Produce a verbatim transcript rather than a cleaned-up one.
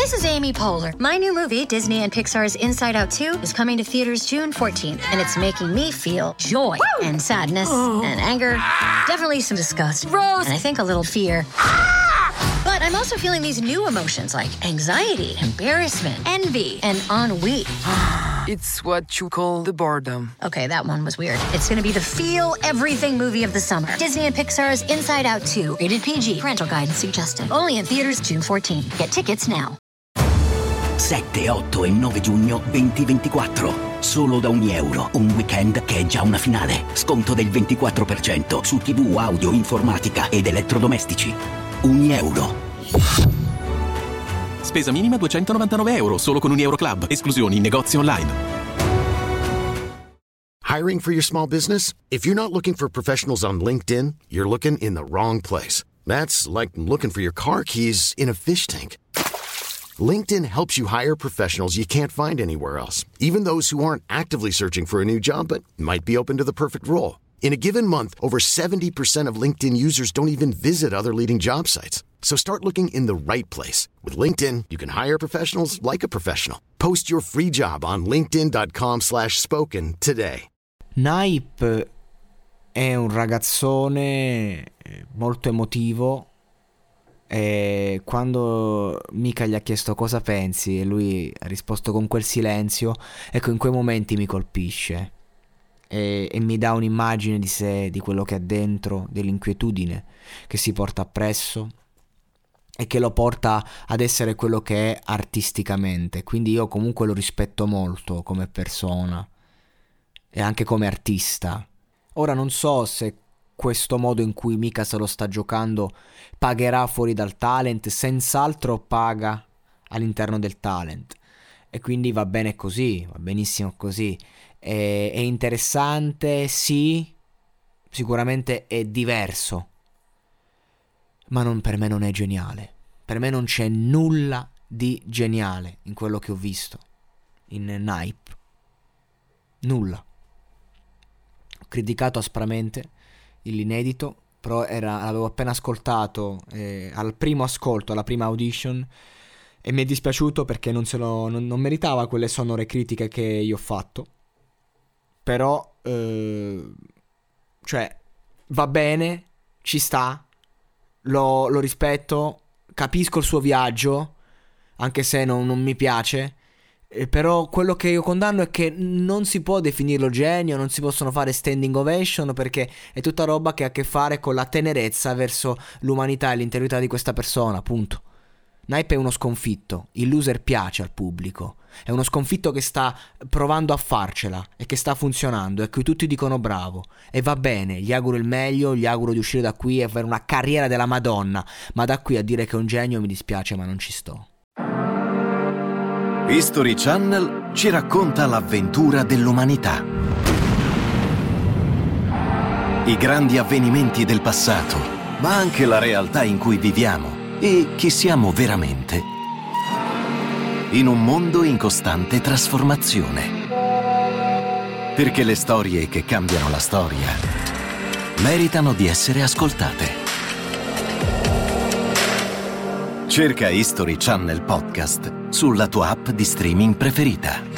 This is Amy Poehler. My new movie, Disney and Pixar's Inside Out two, is coming to theaters June fourteenth, and it's making me feel joy Woo! and sadness oh. and anger, definitely some disgust, Rose, and I think a little fear. But I'm also feeling these new emotions like anxiety, embarrassment, envy, and ennui. It's what you call the boredom. Okay, that one was weird. It's gonna be the feel everything movie of the summer. Disney and Pixar's Inside Out two. Rated P G. Parental guidance suggested. Only in theaters June fourteenth. Get tickets now. sette, otto e nove giugno duemilaventiquattro. Solo da ogni euro. Un weekend che è già una finale. Sconto del ventiquattro per cento su tivù, audio, informatica ed elettrodomestici. Ogni euro. Spesa minima duecentonovantanove euro, solo con un Euro Club. Esclusioni in negozi online. Hiring for your small business? If you're not looking for professionals on LinkedIn, you're looking in the wrong place. That's like looking for your car keys in a fish tank. LinkedIn helps you hire professionals you can't find anywhere else, even those who aren't actively searching for a new job but might be open to the perfect role. In a given month, over seventy percent of LinkedIn users don't even visit other leading job sites. So start looking in the right place. With LinkedIn, you can hire professionals like a professional. Post your free job on linkedin.com slash spoken today. Naip è un ragazzone molto emotivo e quando Mika gli ha chiesto cosa pensi e lui ha risposto con quel silenzio, ecco, in quei momenti mi colpisce. E, e mi dà un'immagine di sé, di quello che ha dentro, dell'inquietudine che si porta appresso e che lo porta ad essere quello che è artisticamente. Quindi io comunque lo rispetto molto come persona e anche come artista. Ora non so se questo modo in cui Mika se lo sta giocando pagherà fuori dal talent, senz'altro paga all'interno del talent e quindi va bene così, va benissimo così. È, è interessante, sì, sicuramente è diverso, ma non, per me non è geniale. Per me non c'è nulla di geniale in quello che ho visto in Naip. Nulla. Ho criticato aspramente l'inedito, però era, l'avevo appena ascoltato eh, al primo ascolto, alla prima audition, e mi è dispiaciuto perché non, se lo, non, non meritava quelle sonore critiche che io ho fatto. Però eh, cioè va bene, ci sta, lo, lo rispetto, capisco il suo viaggio, anche se non, non mi piace, eh, però quello che io condanno è che non si può definirlo genio, non si possono fare standing ovation, perché è tutta roba che ha a che fare con la tenerezza verso l'umanità e l'integrità di questa persona, punto. Naip è uno sconfitto, il loser piace al pubblico, è uno sconfitto che sta provando a farcela e che sta funzionando e a cui tutti dicono bravo, e va bene, gli auguro il meglio, gli auguro di uscire da qui e avere una carriera della Madonna, ma da qui a dire che è un genio mi dispiace, ma non ci sto. History Channel ci racconta l'avventura dell'umanità, i grandi avvenimenti del passato, ma anche la realtà in cui viviamo e chi siamo veramente, in un mondo in costante trasformazione. Perché le storie che cambiano la storia meritano di essere ascoltate. Cerca History Channel Podcast sulla tua app di streaming preferita.